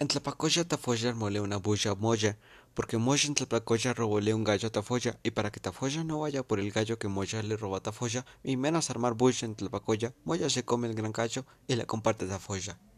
En Tlapacoya Tafoya mole una bulla moya, porque Moya en Tlapacoya robóle un gallo a Tafoya, y para que Tafoya no vaya por el gallo que Moya le roba a Tafoya, y menos armar bulla en Tlapacoya, Moya se come el gran gallo y le comparte a Tafoya.